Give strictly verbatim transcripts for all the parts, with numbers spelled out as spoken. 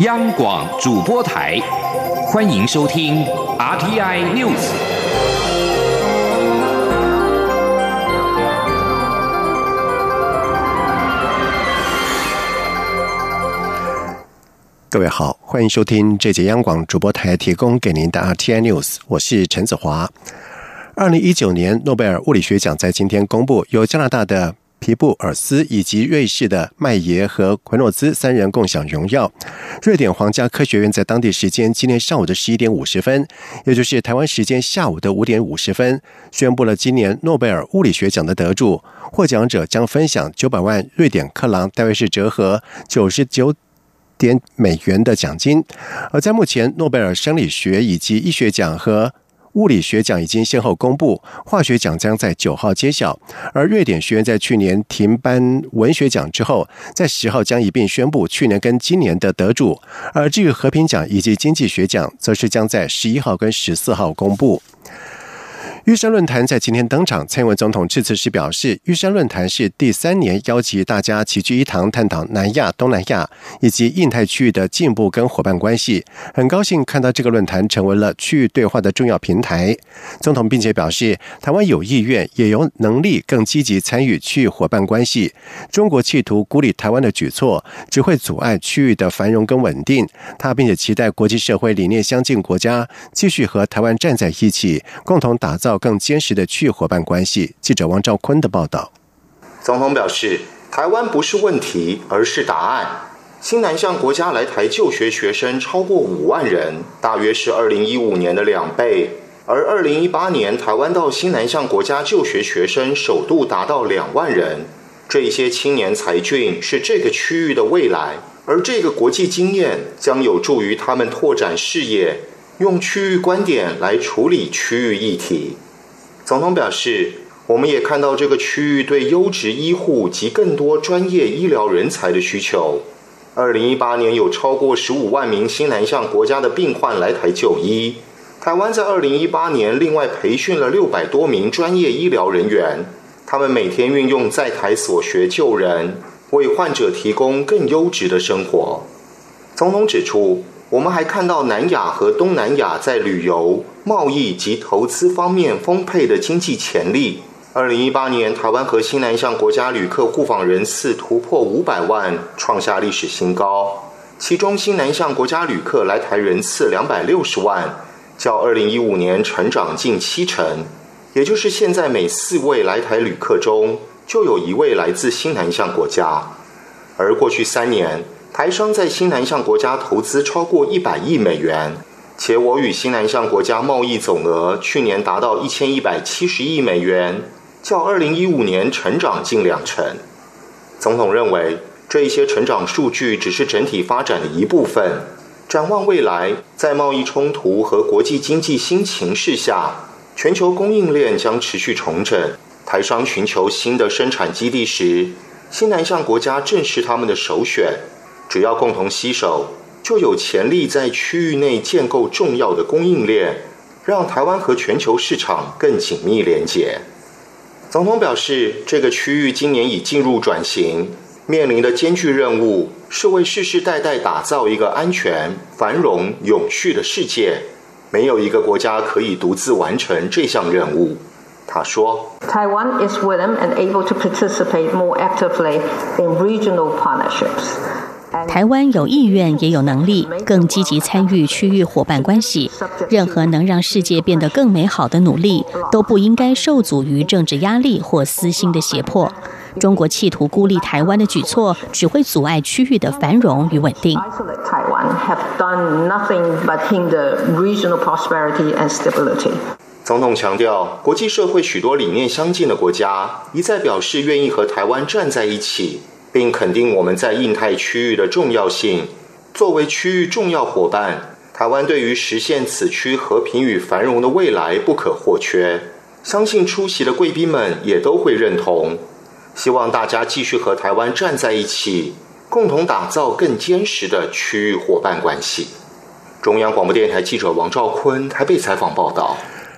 央广主播台，欢迎收听 R T I News。 各位好，欢迎收听这节央广主播台提供给您的 R T I News， 我是陈子华。二零一九年诺贝尔物理学奖在今天公布，由加拿大的皮布尔斯以及瑞士的麦耶和奎诺兹三人共享荣耀。瑞典皇家科学院在当地时间今天上午的十一点五十分，也就是台湾时间下午的五点五十分，宣布了今年诺贝尔物理学奖的得主，获奖者将分享九百万瑞典克朗，大约是折合九十九点美元的奖金。而在目前，诺贝尔生理学以及医学奖和物理学奖已经先后公布，化学奖将在九号揭晓。而瑞典学院在去年停颁文学奖之后，在十号将一并宣布去年跟今年的得主。而至于和平奖以及经济学奖，则是将在十一号跟十四号公布。玉山论坛在今天登场，蔡英文总统致辞时表示，玉山论坛是第三年邀集大家齐聚一堂，探讨南亚、东南亚以及印太区域的进步跟伙伴关系。很高兴看到这个论坛成为了区域对话的重要平台。总统并且表示，台湾有意愿也有能力更积极参与区域伙伴关系。中国企图孤立台湾的举措，只会阻碍区域的繁荣跟稳定。他并且期待国际社会理念相近国家继续和台湾站在一起，共同打造更坚实的区域伙伴关系。记者王兆坤的报道。 总统表示，台湾不是问题，而是答案。新南向国家来台就学学生超过五万人，大约是二零一五年的两倍。而二零一八年，台湾到新南向国家就学学生首度达到两万人。这些青年才俊是这个区域的未来，而这个国际经验将有助于他们拓展视野，用区域观点来处理区域议题。总统表示，我们也看到这个区域对优质医护及更多专业医疗人才的需求。二零一八年有超过十五万名新南向国家的病患来台就医。台湾在二零一八年另外培训了六百多名专业医疗人员，他们每天运用在台所学救人，为患者提供更优质的生活。总统指出，我们还看到南亚和东南亚在旅游、贸易及投资方面丰沛的经济潜力。二零一八年，台湾和新南向国家旅客互访人次突破五百万，创下历史新高。其中，新南向国家旅客来台人次两百六十万，较二零一五年成长近七成。也就是现在每四位来台旅客中，就有一位来自新南向国家。而过去三年，台商在新南向国家投资超过一百亿美元，且我与新南向国家贸易总额去年达到一千一百七十亿美元，较二零一五年成长近两成。总统认为，这一些成长数据只是整体发展的一部分。展望未来，在贸易冲突和国际经济新情势下，全球供应链将持续重整。台商寻求新的生产基地时，新南向国家正是他们的首选。只要共同携手，就有潜力在区域内建构重要的供应链，让台湾和全球市场更紧密连结。总统表示，这个区域今年已进入转型，面临的艰巨任务是为世世代代打造一个安全、繁荣、永续的世界。没有一个国家可以独自完成这项任务。他说 Taiwan is willing and able to participate more actively in regional partnerships. 台湾有意愿也有能力更积极参与区域伙伴关系，任何能让世界变得更美好的努力都不应该受阻于政治压力或私心的胁迫。中国企图孤立台湾的举措只会阻碍区域的繁荣与稳定。 总统强调，国际社会许多理念相近的国家一再表示愿意和台湾站在一起，并肯定我们在印太区域的重要性。作为区域重要伙伴，台湾对于实现此区和平与繁荣的未来不可或缺。相信出席的贵宾们也都会认同。希望大家继续和台湾站在一起，共同打造更坚实的区域伙伴关系。中央广播电台记者王兆坤台北采访报道。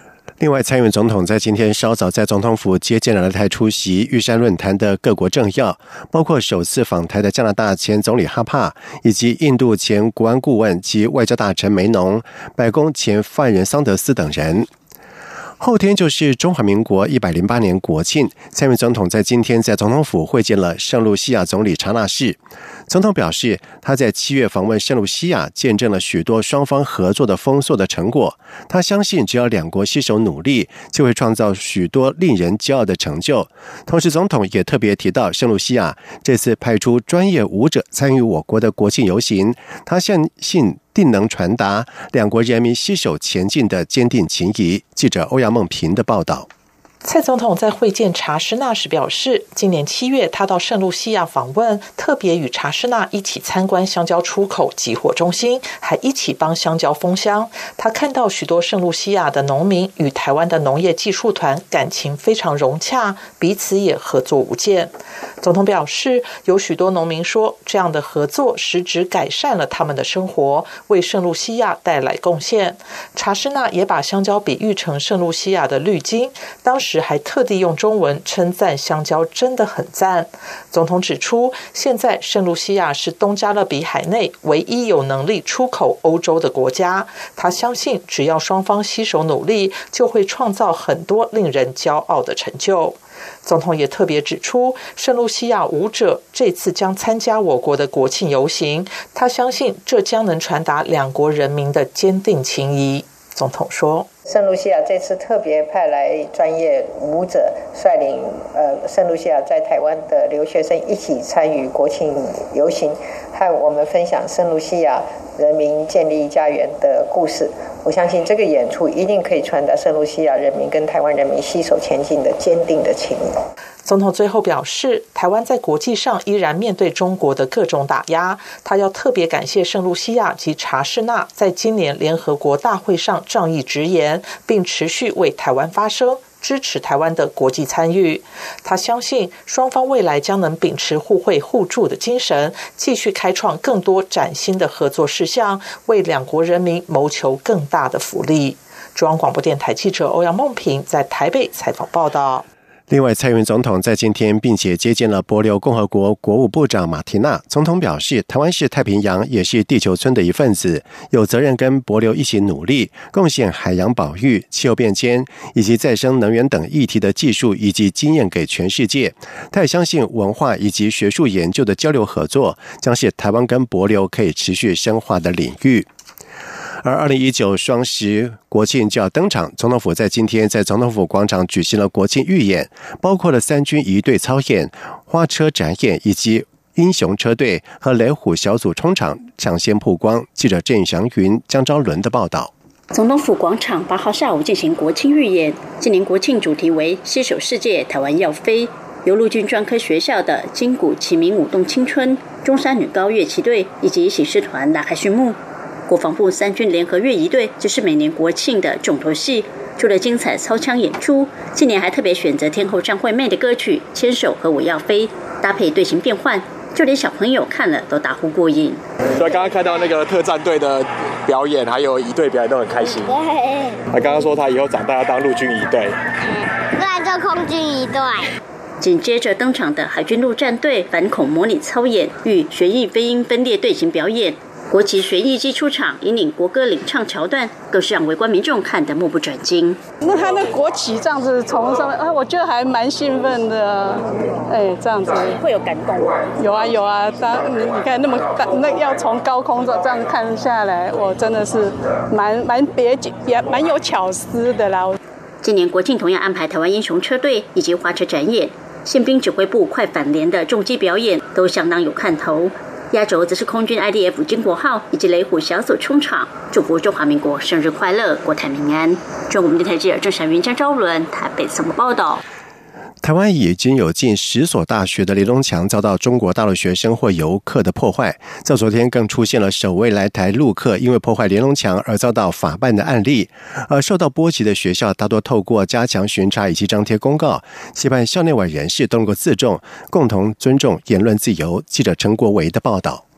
另外，蔡英文总统在今天稍早在总统府接见了来台出席玉山论坛的各国政要，包括首次访台的加拿大前总理哈帕，以及印度前国安顾问及外交大臣梅农、白宫前发言人桑德斯等人。后天就是中华民国一百零八年国庆，蔡英文总统在今天在总统府会见了圣露西亚总理查纳士。总统表示，他在七月访问圣露西亚，见证了许多双方合作的丰硕的成果。他相信，只要两国携手努力，就会创造许多令人骄傲的成就。同时，总统也特别提到，圣露西亚这次派出专业舞者参与我国的国庆游行，他相信定能传达两国人民携手前进的坚定情谊。记者欧阳梦平的报道。 蔡总统在会见查施纳时表示，今年七月他到圣露西亚访问，特别与查施纳一起参观香蕉出口集货中心，还一起帮香蕉封箱。他看到许多圣露西亚的农民与台湾的农业技术团感情非常融洽，彼此也合作无间。总统表示，有许多农民说，这样的合作实质改善了他们的生活，为圣露西亚带来贡献。查施纳也把香蕉比喻成圣露西亚的绿金，当时还特地用中文称赞香蕉真的很赞。总统指出，现在圣露西亚是东加勒比海内唯一有能力出口欧洲的国家，他相信只要双方携手努力，就会创造很多令人骄傲的成就。总统也特别指出，圣露西亚舞者这次将参加我国的国庆游行，他相信这将能传达两国人民的坚定情谊。总统说， 圣露西亚这次特别派来专业舞者，率领呃圣露西亚在台湾的留学生一起参与国庆游行，和我们分享圣露西亚人民建立家园的故事。我相信这个演出一定可以传达圣露西亚人民跟台湾人民携手前进的坚定的情谊。 总统最后表示，台湾在国际上依然面对中国的各种打压，他要特别感谢圣露西亚及查施纳在今年联合国大会上仗义直言，并持续为台湾发声，支持台湾的国际参与。他相信双方未来将能秉持互惠互助的精神，继续开创更多崭新的合作事项，为两国人民谋求更大的福利。中央广播电台记者欧阳梦平在台北采访报道。 另外，蔡英文总统在今天并且接见了帛琉共和国国务部长马提纳。总统表示，台湾是太平洋也是地球村的一份子，有责任跟帛琉一起努力，贡献海洋保育、气候变迁以及再生能源等议题的技术以及经验给全世界。他也相信文化以及学术研究的交流合作将是台湾跟帛琉可以持续深化的领域。而二零一九双十国庆就要登场，总统府在今天在总统府广场举行了国庆预演，包括了三军仪队操演、花车展演以及英雄车队和雷虎小组冲场抢先曝光。记者郑祥云、江昭伦的报道。 总统府广场八号下午进行国庆预演，今年国庆主题为携手世界，台湾要飞。由陆军专科学校的金谷启明舞动青春、中山女高乐旗队以及喜事团拉开序幕。国防部三军联合乐仪队就是每年国庆的重头戏，除了精彩操枪演出，今年还特别选择天后张惠妹的歌曲《牵手》和《我要飞》，搭配队形变换，就连小朋友看了都大呼过瘾。 所以刚刚看到那个特战队的表演，还有仪队表演都很开心。对，他刚刚说他以后长大要当陆军仪队， 不然做空军仪队。 紧接着登场的海军陆战队反恐模拟操演与旋翼飞鹰分列队形表演。国旗旋翼机出场，引领国歌领唱桥段，更是让围观民众看得目不转睛。 那他那国旗这样子从上面啊，我觉得还蛮兴奋的。哎，这样子会有感动吗？ 有啊有啊，当你你看那么大，那要从高空这样看下来，我真的是蛮蛮别也蛮有巧思的啦。 今年国庆同样安排台湾英雄车队以及花车展演，宪兵指挥部快反联的重机表演都相当有看头。压轴则是空军 I D F 经国号以及雷虎小组冲场，祝福中华民国生日快乐，国泰民安。中国电台记者郑闪云、江昭伦台北综合报道。 台湾已经有近十所大学的联络墙遭到中国大陆学生或游客的破坏，在昨天更出现了首位来台陆客因为破坏联络墙而遭到法办的案例。而受到波及的学校大多透过加强巡查以及张贴公告，期盼校内外人士都能够自重，共同尊重言论自由。记者陈国维的报道。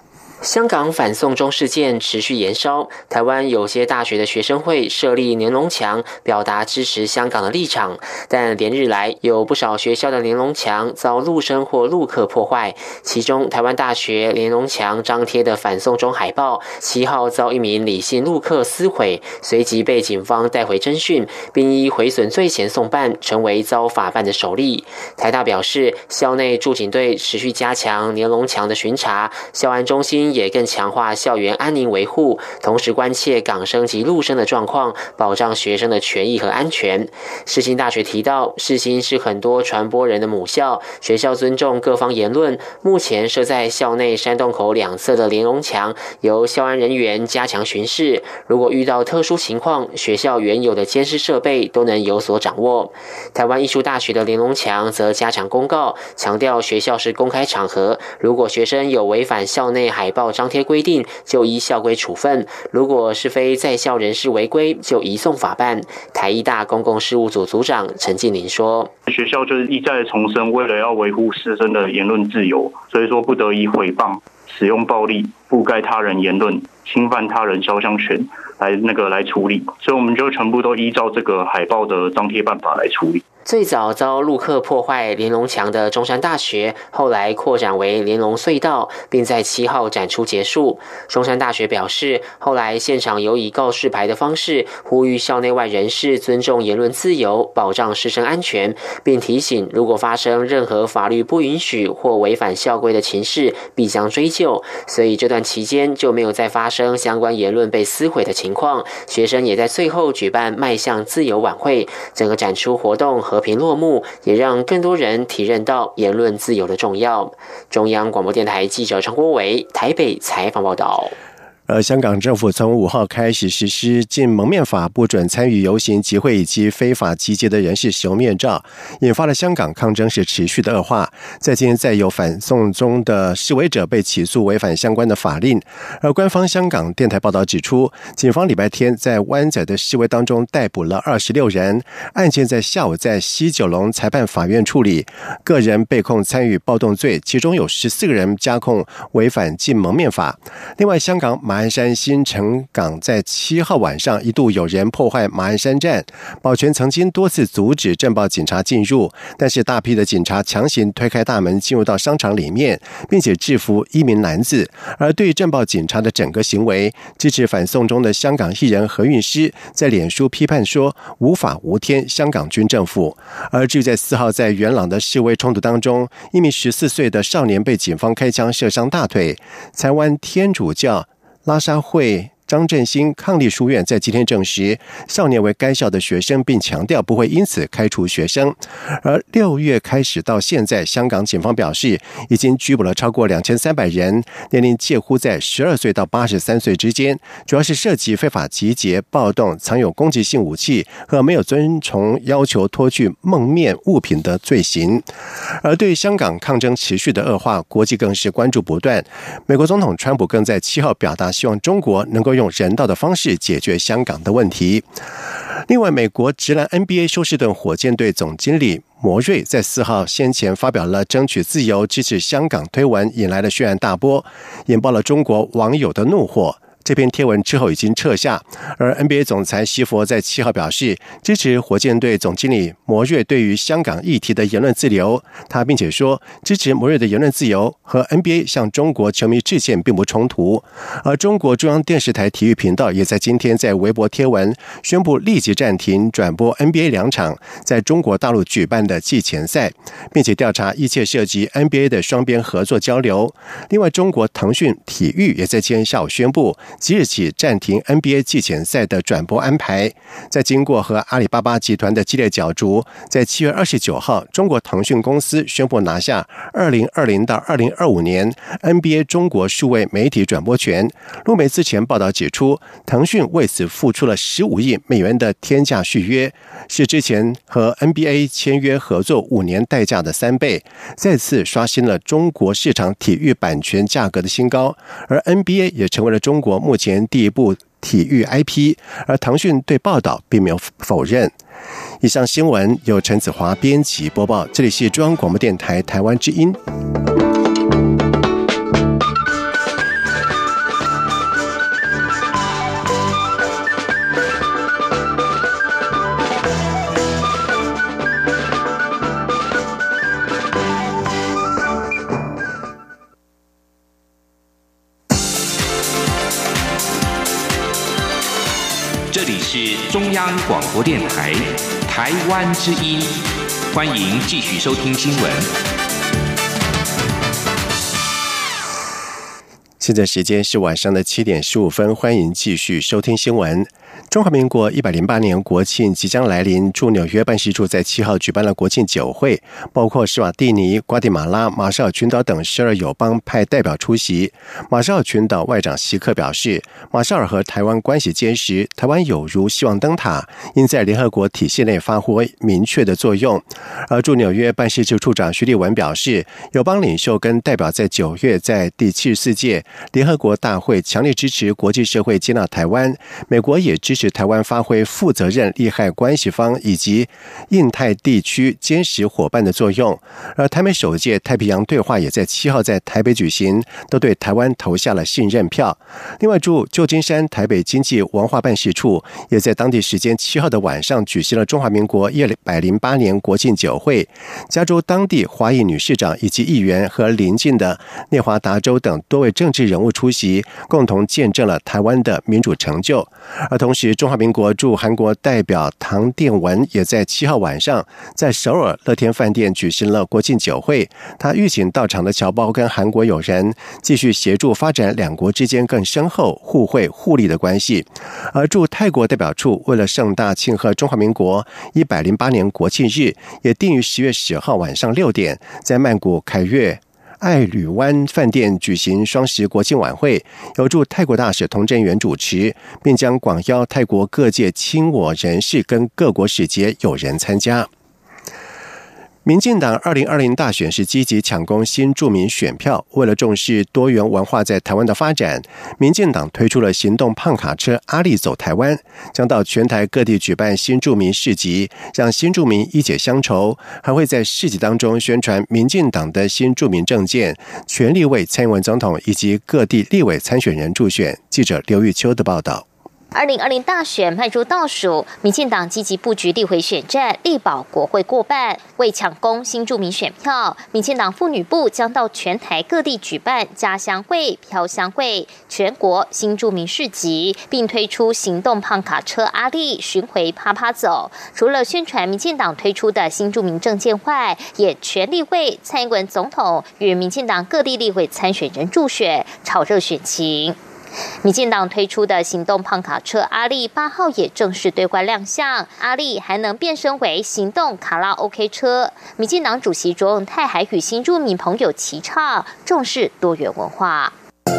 香港反送中事件持续延烧，台湾有些大学的学生会设立连龙墙，表达支持香港的立场。但连日来，有不少学校的连龙墙遭陆生或陆客破坏。其中，台湾大学连龙墙张贴的反送中海报，七号遭一名李姓陆客撕毁，随即被警方带回侦讯，并依毁损罪嫌送办，成为遭法办的首例。台大表示，校内驻警队持续加强连龙墙的巡查，校安中心也更强化校园安宁维护，同时关切港生及陆生的状况，保障学生的权益和安全。世新大学提到，世新是很多传播人的母校，学校尊重各方言论。目前设在校内山洞口两侧的连龙墙，由校安人员加强巡视。如果遇到特殊情况，学校原有的监视设备都能有所掌握。台湾艺术大学的连龙墙则加强公告，强调学校是公开场合，如果学生有违反校内海报张贴规定，就依校规处分；如果是非在校人士违规，就移送法办。台艺大公共事务组组长陈进林说：“ 学校就是一再重申，为了要维护师生的言论自由，所以说不得以诽谤、使用暴力、覆盖他人言论、侵犯他人肖像权来那个来处理，所以我们就全部都依照这个海报的张贴办法来处理。” 最早遭陆客破坏连龙墙的中山大学，后来扩展为连龙隧道，并在七号展出结束。中山大学表示，后来现场有以告示牌的方式呼吁校内外人士尊重言论自由，保障师生安全，并提醒如果发生任何法律不允许或违反校规的情事，必将追究。所以这段期间就没有再发生相关言论被撕毁的情况。学生也在最后举办迈向自由晚会，整个展出活动和和平落幕，也让更多人体认到言论自由的重要。中央广播电台记者陈国维台北采访报道。 而香港政府从五号开始实施禁蒙面法，不准参与游行集会以及非法集结的人士使用面罩，引发了香港抗争是持续的恶化。在今天再有反送中的示威者被起诉违反相关的法令。而官方香港电台报道指出，警方礼拜天在湾仔的示威当中逮捕了二十六人，案件在下午在西九龙裁判法院处理，个人被控参与暴动罪，其中有十四个人加控违反禁蒙面法。另外，香港马鞍山新城港在七号晚上一度有人破坏马鞍山站，保全曾经多次阻止镇暴警察进入，但是大批的警察强行推开大门进入到商场里面，并且制服一名男子。而对镇暴警察的整个行为，支持反送中的香港艺人何韵诗在脸书批判说无法无天香港军政府。而至于在四号在元朗的示威冲突当中，一名十四岁的少年被警方开枪射伤大腿。台湾天主教拉沙会张振兴抗力书院在今天证实，少年为该校的学生，并强调不会因此开除学生。而六月开始到现在，香港警方表示已经拘捕了超过两千三百人，年龄介乎在十二岁到八十三岁之间，主要是涉及非法集结、暴动、藏有攻击性武器和没有遵从要求脱去蒙面物品的罪行。而对香港抗争持续的恶化，国际更是关注不断。美国总统川普更在七号表达希望中国能够用人道的方式解决香港的问题。另外，美国职篮 N B A 休斯顿火箭队总经理摩瑞在四号先前发表了争取自由、支持香港推文，引来了轩然大波，引爆了中国网友的怒火。这篇贴文之后已经撤下，而 N B A 总裁西佛在七号表示支持火箭队总经理摩瑞对于香港议题的言论自由。他并且说，支持摩瑞的言论自由和 N B A 向中国球迷致歉并不冲突。而中国中央电视台体育频道也在今天在微博贴文宣布立即暂停转播 N B A 两场在中国大陆举办的季前赛，并且调查一切涉及 N B A 的双边合作交流。另外，中国腾讯体育也在今天下午宣布即日起暂停 N B A 季前赛的转播安排。在经过和阿里巴巴集团的激烈角逐，在七月二十九号，中国腾讯公司宣布拿下二零二零到二零二五年 N B A 中国数位媒体转播权。路媒之前报道指出，腾讯为此付出了十五亿美元的天价续约，是之前和 N B A 签约合作五年代价的三倍，再次刷新了中国市场体育版权价格的新高。而 N B A 也成为了中国目前第一部体育 I P， 而腾讯对报道并没有否认。以上新闻由陈子华编辑播报，这里是中央广播电台台湾之音。 这里是中央广播电台台湾之音，欢迎继续收听新闻。 现在时间是晚上的七点十五分，欢迎继续收听新闻。中华民国一百零八年国庆即将来临，驻纽约办事处在七号举办了国庆酒会，包括史瓦蒂尼、瓜地马拉、马绍尔群岛等十二友邦派代表出席。马绍尔群岛外长席克表示，马绍尔和台湾关系坚实，台湾有如希望灯塔，应在联合国体系内发挥明确的作用。而驻纽约办事处处长徐立文表示，友邦领袖跟代表在九月在第七十四届联合国大会强烈支持国际社会接纳台湾，美国也支持台湾发挥负责任利害关系方以及印太地区坚实伙伴的作用。而台美首届太平洋对话也在七号在台北举行，都对台湾投下了信任票。另外，驻旧金山台北经济文化办事处也在当地时间七号的晚上举行了中华民国一百零八年国庆酒会，加州当地华裔女市长以及议员和邻近的内华达州等多位政治人物出席，共同见证了台湾的民主成就。而同时，中华民国驻韩国代表唐殿文也在七号晚上在首尔乐天饭店举行了国庆酒会，他预请到场的侨胞跟韩国友人继续协助发展两国之间更深厚互惠互利的关系。而驻泰国代表处为了盛大庆贺中华民国一百零八年国庆日，也定于十月十号晚上六点在曼谷凯悦爱旅湾饭店举行双十国庆晚会，由驻泰国大使童振源主持，并将广邀泰国各界亲我人士跟各国使节友人参加。民进党二零二零大选是积极抢攻新住民选票，为了重视多元文化在台湾的发展，民进党推出了行动胖卡车阿力走台湾，将到全台各地举办新住民市集，让新住民一解乡愁，还会在市集当中宣传民进党的新住民政见，全力为蔡英文总统以及各地立委参选人助选。记者刘玉秋的报道。 二零二零大选迈入倒数，民进党积极布局立委选战，力保国会过半。为抢攻新住民选票，民进党妇女部将到全台各地举办家乡会、飘乡会、全国新住民市集，并推出行动胖卡车阿力巡回趴趴走。除了宣传民进党推出的新住民政见外，也全力为蔡英文总统与民进党各地立委参选人助选，炒热选情。民进党推出的行动胖卡车阿力八号也正式对外亮相，阿力还能变身为行动卡拉 OK 车。民进党主席卓永泰还与新住民朋友齐唱，重视多元文化。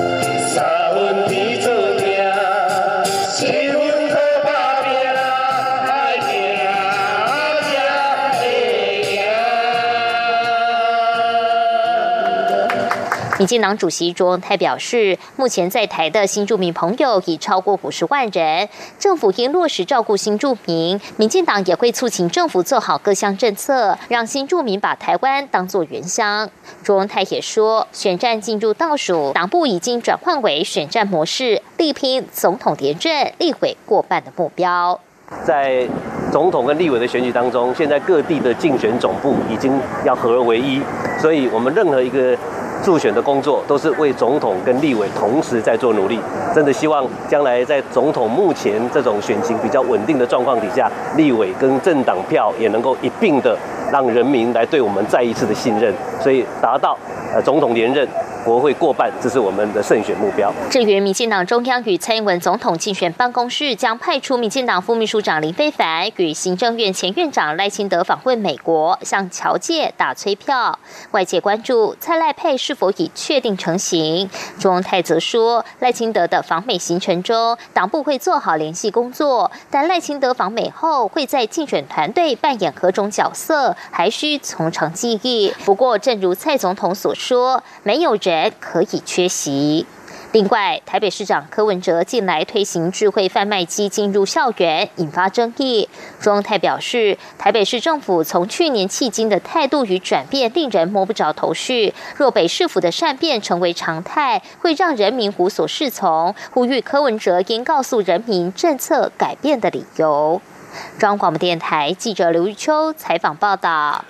民进党主席卓永泰表示，目前在台的新住民朋友已超过五十万人，政府应落实照顾新住民，民进党也会促请政府做好各项政策，让新住民把台湾当作原乡。卓永泰也说，选战进入倒数，党部已经转换为选战模式，力拼总统连任、立委过半的目标。 在总统跟立委的选举当中，现在各地的竞选总部已经要合而为一，所以我们任何一个助选的工作都是为总统跟立委同时在做努力，真的希望将来在总统目前这种选情比较稳定的状况底下，立委跟政党票也能够一并的让人民来对我们再一次的信任，所以达到呃总统连任、国会过半，这是我们的胜选目标。 至于民进党中央与蔡英文总统竞选办公室将派出民进党副秘书长林飞帆与行政院前院长赖清德访问美国，向侨界打催票。外界关注蔡赖配是否已确定成型。卓永泰则说，赖清德的访美行程中，党部会做好联系工作，但赖清德访美后会在竞选团队扮演何种角色，还需从长计议。不过，正如蔡总统所说，没有人可以缺席。另外，台北市长柯文哲近来推行智慧贩卖机进入校园，引发争议。卓永泰表示，台北市政府从去年迄今的态度与转变令人摸不着头绪，若北市府的善变成为常态，会让人民无所适从，呼吁柯文哲应告诉人民政策改变的理由。中央广播电台记者刘玉秋采访报道。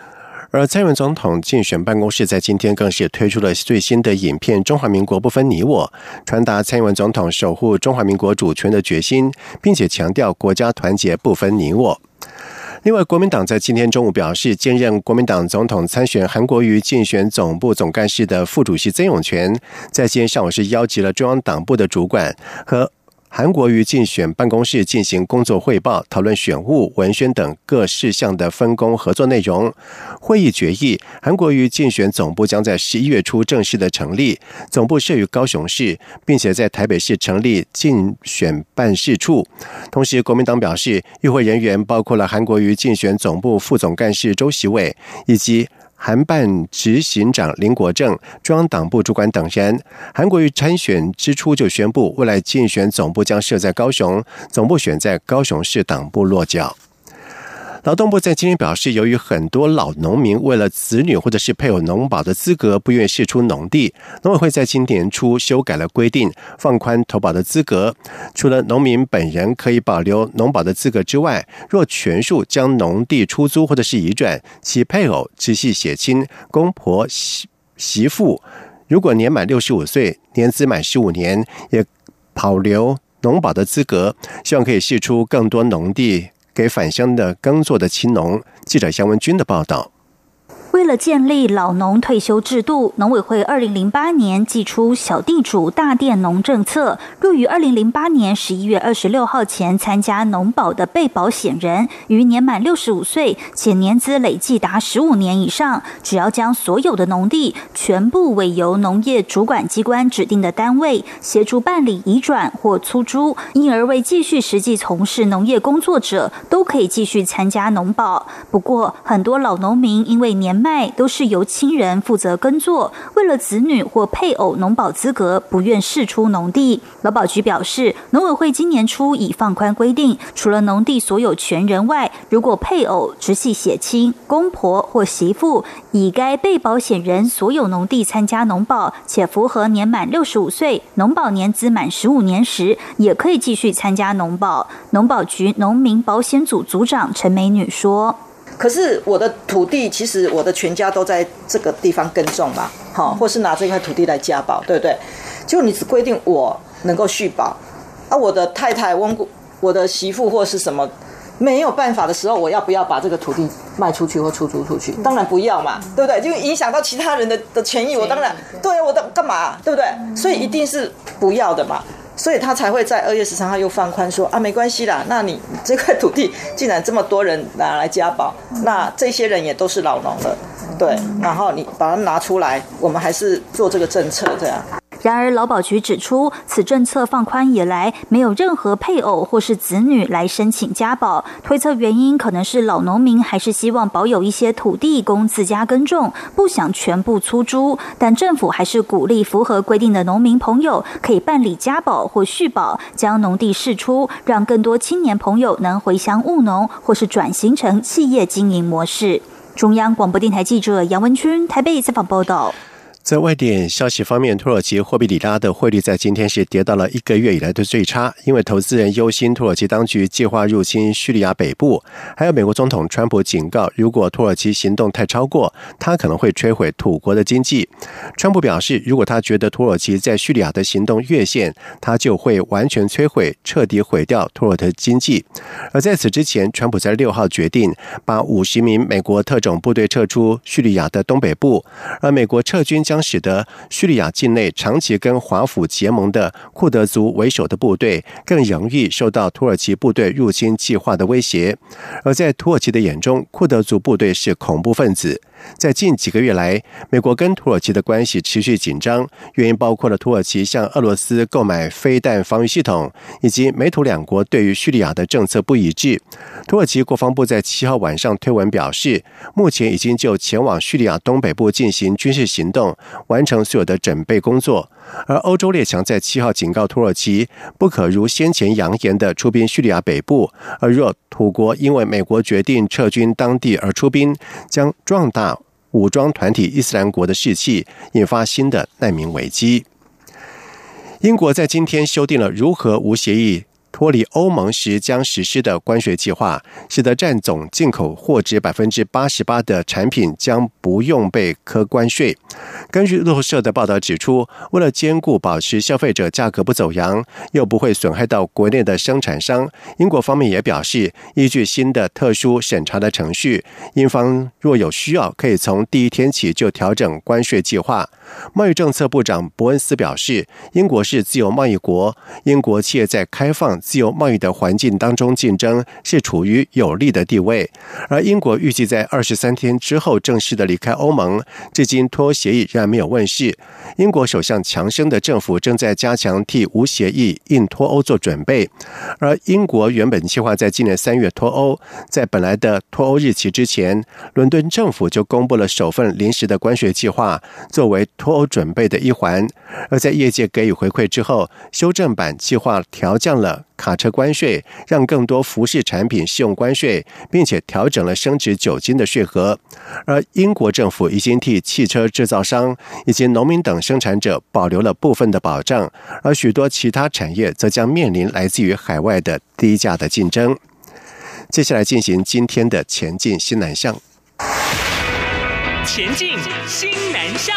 而蔡英文总统竞选办公室在今天更是推出了最新的影片《中华民国不分你我》，传达蔡英文总统守护中华民国主权的决心，并且强调国家团结不分你我。另外，国民党在今天中午表示，兼任国民党总统参选韩国瑜竞选总部总干事的副主席曾永权，在今天上午是邀集了中央党部的主管和韩国瑜竞选办公室进行工作汇报，讨论选务、文宣等各事项的分工合作内容。会议决议，韩国瑜竞选总部将在十一月初正式的成立，总部设于高雄市，并且在台北市成立竞选办事处。同时，国民党表示，与会人员包括了韩国瑜竞选总部副总干事周习伟以及韩办执行长林国正、中央党部主管等人。韩国瑜参选之初就宣布，未来竞选总部将设在高雄，总部选在高雄市党部落脚。劳动部在今天表示，由于很多老农民为了子女或者是配偶农保的资格不愿意释出农地，农委会在今年初修改了规定，放宽投保的资格。除了农民本人可以保留农保的资格之外，若全数将农地出租或者是移转，其配偶、直系血亲、公婆、媳媳妇，如果年满六十五岁，年资满十五年，也保留农保的资格，希望可以释出更多农地给返乡的耕作的青农。记者杨文君的报道。 为了建立老农退休制度，农委会二零零八年祭出小地主大佃农政策，若于二零零八年十一月二十六号前参加农保的被保险人，于年满六十五岁且年资累计达十五年以上，只要将所有的农地全部委由农业主管机关指定的单位协助办理移转或出租，因而未继续实际从事农业工作者，都可以继续参加农保。不过，很多老农民因为年迈都是由亲人负责耕作，为了子女或配偶农保资格，不愿释出农地。劳保局表示，农委会今年初已放宽规定，除了农地所有权人外，如果配偶、直系血亲、公婆或媳妇以该被保险人所有农地参加农保，且符合年满六十五岁、农保年资满十五年时，也可以继续参加农保。农保局农民保险组组长陈美女说， 可是我的土地，其实我的全家都在这个地方耕种嘛，好，或是拿这块土地来加保，对不对？就你只规定我能够续保，啊，我的太太、我的媳妇或是什么没有办法的时候，我要不要把这个土地卖出去或出租出去？当然不要嘛，对不对？就影响到其他人的的权益，我当然对啊，我的干嘛，对不对？所以一定是不要的嘛。所以他才会在二月十三号又放宽说啊，没关系啦，那你这块土地既然这么多人拿来加保，那这些人也都是老农了，对，然后你把它拿出来，我们还是做这个政策这样。 然而，劳保局指出，此政策放宽以来，没有任何配偶或是子女来申请加保，推测原因可能是老农民还是希望保有一些土地供自家耕种，不想全部出租。但政府还是鼓励符合规定的农民朋友可以办理加保或续保，将农地释出，让更多青年朋友能回乡务农，或是转型成企业经营模式。中央广播电台记者杨文君台北采访报道。 在外电消息方面，土耳其货币里拉的汇率在今天是跌到了一个月以来的最差，因为投资人忧心土耳其当局计划入侵叙利亚北部，还有美国总统川普警告，如果土耳其行动太超过，他可能会摧毁土国的经济。川普表示，如果他觉得土耳其在叙利亚的行动越线，他就会完全摧毁、彻底毁掉土耳其经济。而在此之前，川普在六号决定把五十名美国特种部队撤出叙利亚的东北部，而美国撤军将使得叙利亚境内长期跟华府结盟的库德族为首的部队更容易受到土耳其部队入侵计划的威胁。而在土耳其的眼中，库德族部队是恐怖分子。在近几个月来，美国跟土耳其的关系持续紧张，原因包括了土耳其向俄罗斯购买飞弹防御系统，以及美土两国对于叙利亚的政策不一致。土耳其国防部在七号晚上推文表示，目前已经就前往叙利亚东北部进行军事行动，完成所有的准备工作。而欧洲列强在七号警告土耳其，不可如先前扬言的出兵叙利亚北部，而若土国因为美国决定撤军当地而出兵，将壮大武装团体伊斯兰国的士气，引发新的难民危机。英国在今天修订了如何无协议脱离欧盟时将实施的关税计划，使得占总进口货值百分之八十八的产品将不用被课关税。根据路透社的报道指出，为了兼顾保持消费者价格不走扬，又不会损害到国内的生产商，英国方面也表示，依据新的特殊审查的程序，英方若有需要，可以从第一天起就调整关税计划。贸易政策部长伯恩斯表示，英国是自由贸易国，英国企业在开放自由贸易的环境当中竞争是处于有利的地位，而英国预计在二十三天之后正式的离开欧盟，至今脱欧协议仍然没有问世。英国首相强生的政府正在加强替无协议硬脱欧做准备，而英国原本计划在今年三月脱欧，在本来的脱欧日期之前，伦敦政府就公布了首份临时的关税计划，作为脱欧准备的一环。而在业界给予回馈之后，修正版计划调降了卡车关税，让更多服饰产品适用关税，并且调整了升值酒精的税额。而英国政府已经替汽车制造商以及农民等生产者保留了部分的保障，而许多其他产业则将面临来自于海外的低价的竞争。接下来进行今天的前进新南向。 前进新南向。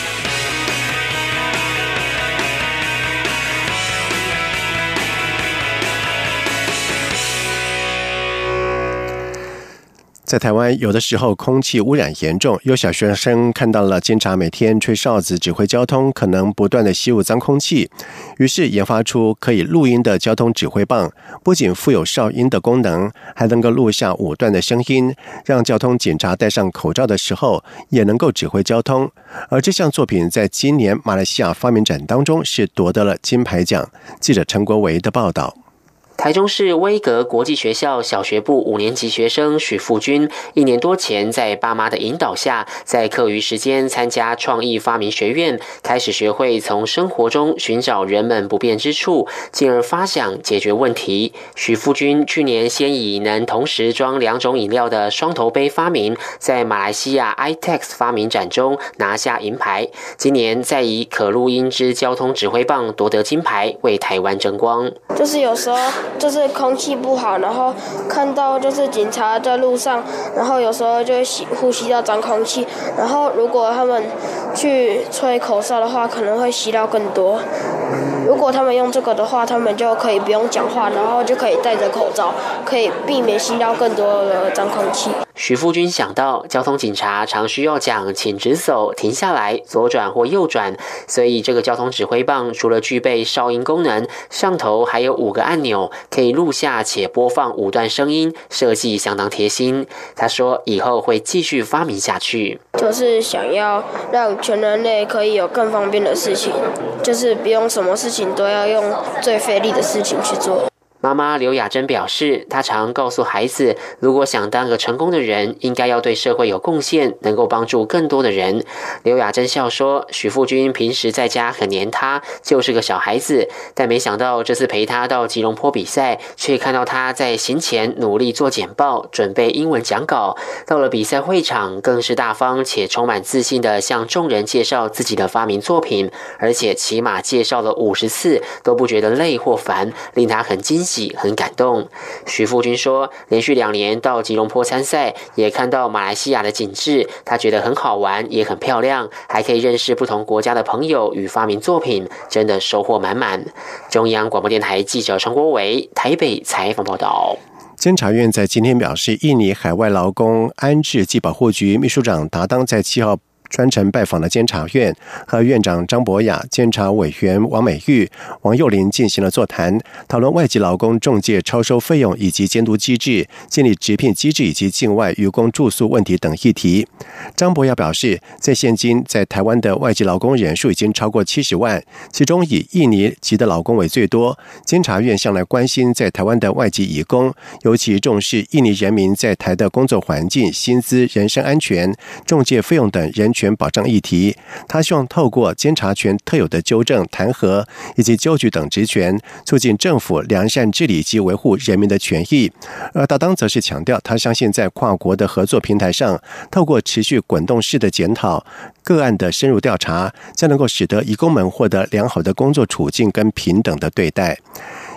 在台湾，有的时候空气污染严重，有小学生看到了警察每天吹哨子指挥交通，可能不断的吸入脏空气，于是研发出可以录音的交通指挥棒，不仅附有哨音的功能，还能够录下五段的声音，让交通警察戴上口罩的时候也能够指挥交通。而这项作品在今年马来西亚发明展当中是夺得了金牌奖。记者陈国维的报道。 台中市威格国际学校小学部五年级学生许富君，一年多前在爸妈的引导下，在课余时间参加创意发明学院，开始学会从生活中寻找人们不便之处，进而发想解决问题。许富君去年先以能同时装两种饮料的双头杯发明，在马来西亚 I T E X 发明展中拿下银牌，今年再以可录音之交通指挥棒夺得金牌，为台湾争光。 就是有时候就是空气不好，然后看到就是警察在路上，然后有时候就会吸呼吸到脏空气，然后如果他们去吹口哨的话，可能会吸到更多。如果他们用这个的话，他们就可以不用讲话，然后就可以戴着口罩，可以避免吸到更多的脏空气。 许富君想到，交通警察常需要讲请直走、停下来、左转或右转，所以这个交通指挥棒除了具备哨音功能，上头还有五个按钮，可以录下且播放五段声音，设计相当贴心。他说，以后会继续发明下去， 就是想要让全人类可以有更方便的事情，就是不用什么事情都要用最费力的事情去做。 妈妈刘雅珍表示，她常告诉孩子，如果想当个成功的人，应该要对社会有贡献，能够帮助更多的人。刘雅珍笑说，许富君平时在家很黏她，就是个小孩子，但没想到这次陪她到吉隆坡比赛，却看到她在行前努力做简报，准备英文讲稿。到了比赛会场，更是大方且充满自信地向众人介绍自己的发明作品，而且起码介绍了五十次，都不觉得累或烦，令她很惊喜很感动。许富君说，连续两年到吉隆坡参赛，也看到马来西亚的景致，他觉得很好玩，也很漂亮，还可以认识不同国家的朋友与发明作品，真的收获满满。中央广播电台记者陈国维台北采访报道。 监察院在今天表示，印尼海外劳工安置及保护局秘书长达当在七号专程拜访了监察院，和院长张博雅、监察委员王美玉、王幼玲进行了座谈，讨论外籍劳工仲介超收费用以及监督机制、建立直聘机制以及境外渔工住宿问题等议题。张博雅表示，在现今在台湾的外籍劳工人数已经超过七十万，其中以印尼籍的劳工为最多。监察院向来关心在台湾的外籍移工，尤其重视印尼人民在台的工作环境、薪资、人身安全、仲介费用等人权权保障议题。他希望透过监察权特有的纠正、弹劾以及纠举等职权，促进政府良善治理及维护人民的权益。而达当则是强调，他相信在跨国的合作平台上，透过持续滚动式的检讨、个案的深入调查，将能够使得移工们获得良好的工作处境跟平等的对待。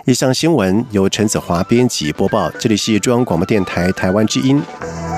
以上新闻由陈子华编辑播报，这里是中央广播电台台湾之音。